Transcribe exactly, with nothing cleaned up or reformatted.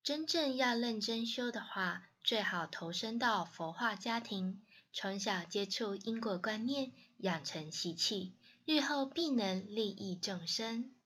真正要认真修的话，最好投身到佛化家庭，从小接触因果观念，养成习气，日后必能利益众生。